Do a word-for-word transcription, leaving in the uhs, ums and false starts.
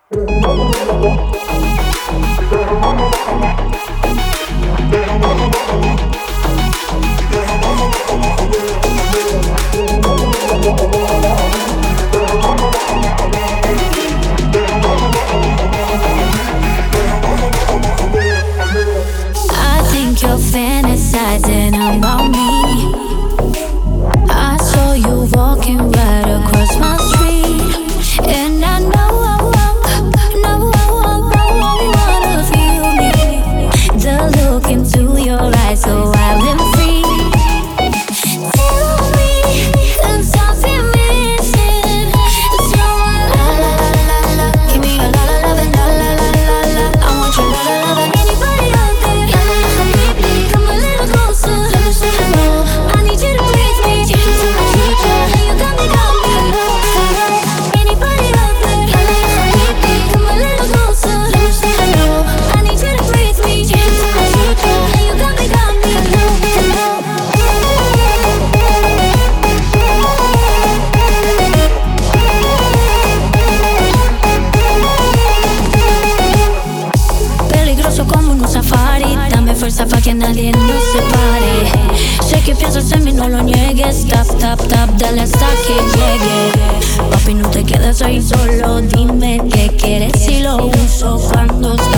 You're fantasizing about me. I saw you walking right across my street, and I know, know, you wanna feel me. The look into your eyes, so wild and free. Tell me there's something missing. It's no la la la la la. Give me a la la la la la la la la. I want your la la la. Anybody out there? Come a little closer. Let me say hello. I need you to breathe me. Take you to my future. You got me, got me. Hello. Anybody out there? Come a little closer. Let me say hello. I need you to breathe me. Take you to my future. You got me, got me. Hello. Hello. Peligroso como un safari. Dame fuerza pa' que nadie nos separe. Sé que piensas en mí, no lo niegues. Tap, tap, tap, dale hasta que llegue. Papi, no te quedes ahí solo. Dime qué quieres y lo uso cuando